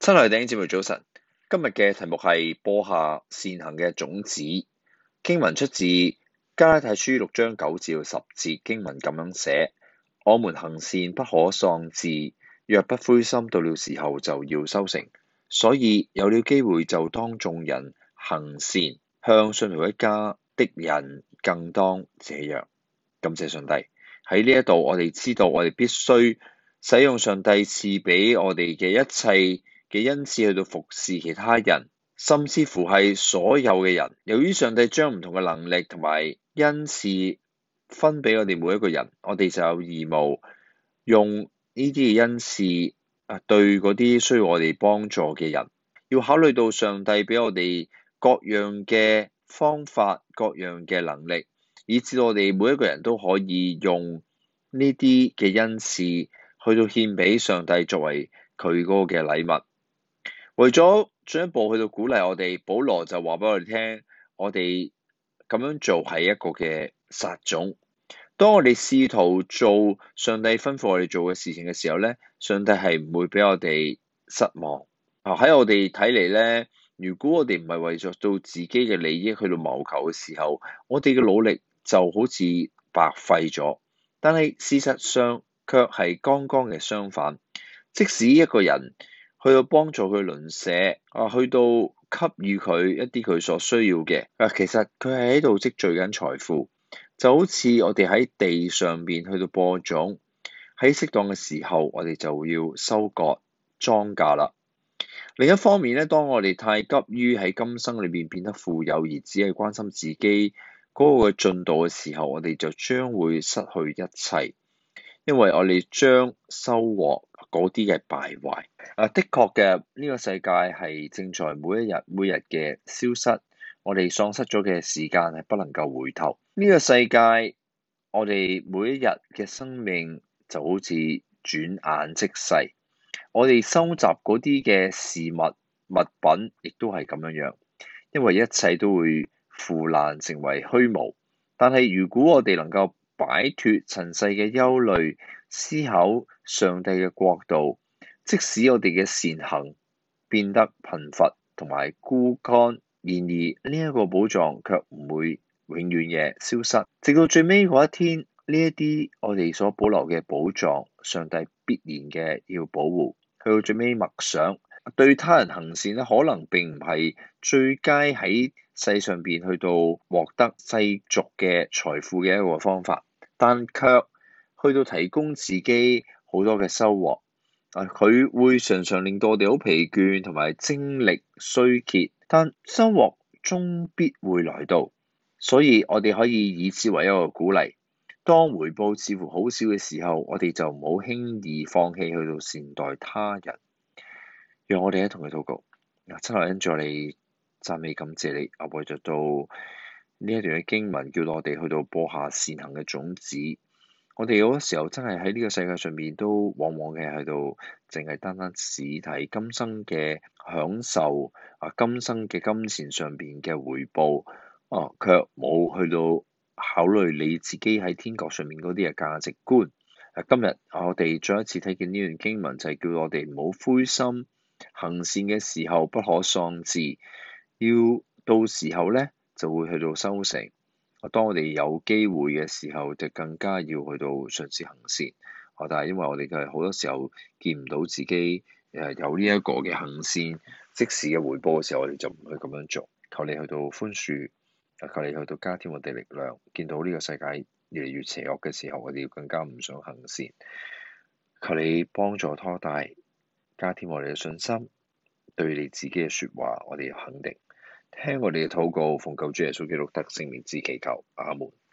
親愛的弟兄姊妹早晨，今日嘅題目係播下善行嘅種子。經文出自加拉太書6章9至10節，經文咁樣寫：我們行善不可喪志，若不灰心，到了時候就要收成。所以有了機會就當眾人行善，向信徒一家的人更當這樣。感謝上帝。喺呢一度，我哋知道我哋必須使用上帝賜俾我哋嘅一切嘅恩賜去到服侍其他人，甚至乎係所有嘅人。由於上帝將唔同嘅能力同埋恩賜分俾我哋每一個人，我哋就有義務用呢啲嘅恩賜對嗰啲需要我哋幫助嘅人。要考慮到上帝俾我哋各樣嘅方法、各樣嘅能力，以至我哋每一個人都可以用呢啲嘅恩賜去到獻俾上帝作為佢嗰個嘅禮物。為咗進一步去到鼓勵我哋，保羅就話俾我哋聽，我哋咁樣做係一個嘅撒種。當我哋試圖做上帝吩咐我哋做嘅事情嘅時候咧，上帝係唔會俾我哋失望。喺我哋睇嚟咧，如果我哋唔係為咗到自己嘅利益去到謀求嘅時候，我哋嘅努力就好似白費咗。但係事實上卻係剛剛嘅相反。即使一個人去到幫助佢鄰舍，去到給予佢一啲佢所需要嘅，其實佢係喺度積聚緊財富，就好似我哋喺地上邊去到播種，喺適當嘅時候，我哋就要收割莊稼啦。另一方面咧，當我哋太急於喺今生裏邊變得富有，而只係關心自己嗰個進度嘅時候，我哋就將會失去一切，因為我哋將收穫嗰啲嘅敗壞。的確嘅，呢個世界係正在每一日嘅消失，我哋喪失咗嘅時間係不能夠回頭。呢個世界，我哋每一日嘅生命就好似轉眼即逝。我哋收集嗰啲嘅事物、物品，亦都係咁樣，因為一切都會腐爛成為虛無。但係如果我哋能夠擺脫塵世嘅憂慮，思考上帝嘅國度，即使我哋嘅善行變得貧乏同埋枯乾，然而呢一個寶藏卻唔會永遠嘅消失，直到最尾嗰一天，呢一啲我哋所保留嘅寶藏，上帝必然嘅要保護。去到最尾默想，對他人行善咧，可能並唔係最佳喺世上邊去到獲得世俗嘅財富嘅一個方法，但卻去到提供自己好多嘅收穫。佢會常常令到我哋好疲倦同埋精力衰竭，但收穫終必會來到，所以我哋可以以此為一個鼓勵。當回報似乎好少嘅時候，我哋就唔好輕易放棄去到善待他人。讓我哋一同去禱告。親愛恩主，我哋讚美感謝你，為著到呢一段嘅經文，叫我哋去到播下善行嘅種子。我哋好多時候真係喺呢個世界上面都往往嘅喺度，淨係單只睇今生嘅享受，今生嘅金錢上邊嘅回報，卻冇去到考慮你自己喺天國上面嗰啲嘅價值觀。今日我哋再一次睇見呢段經文，就係叫我哋唔好灰心，行善嘅時候不可喪志，要到時候咧就會去到收成。當我哋有機會嘅時候，就更加要去到嘗試行善。但係因為我哋嘅好多時候見唔到自己有呢一個嘅行善即時嘅回報嘅時候，我哋就唔去咁樣做。求你去到寬恕，求你去到加添我哋力量。見到呢個世界越嚟越邪惡嘅時候，我哋要更加唔想行善。求你幫助拖帶，加添我哋嘅信心，對你自己嘅説話，我哋要肯定。聽我哋嘅禱告，奉救主耶穌基督得勝名字祈求，阿門。